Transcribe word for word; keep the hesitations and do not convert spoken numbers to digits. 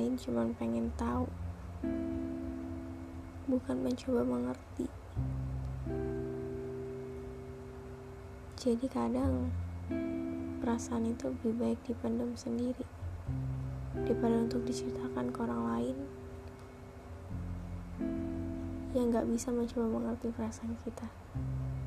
lain cuma pengen tahu, bukan mencoba mengerti. Jadi kadang perasaan itu lebih baik dipendam sendiri daripada untuk diceritakan ke orang lain yang gak bisa mencoba mengerti perasaan kita.